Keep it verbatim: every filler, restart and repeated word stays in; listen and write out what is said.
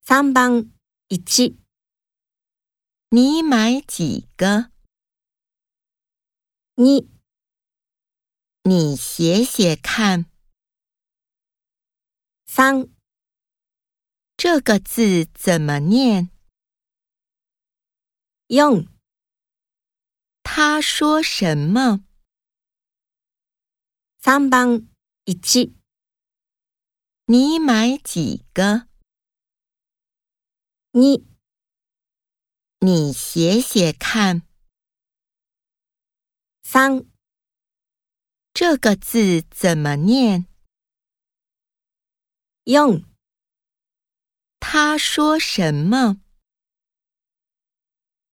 さんばんいち、 你买几个？ に、 你写写看， さん、 这个字怎么念？ よん、 他说什么？ さんばんいち、 你买几个？ に、 你写写看， さん、 这个字怎么念？ よん。 他说什么？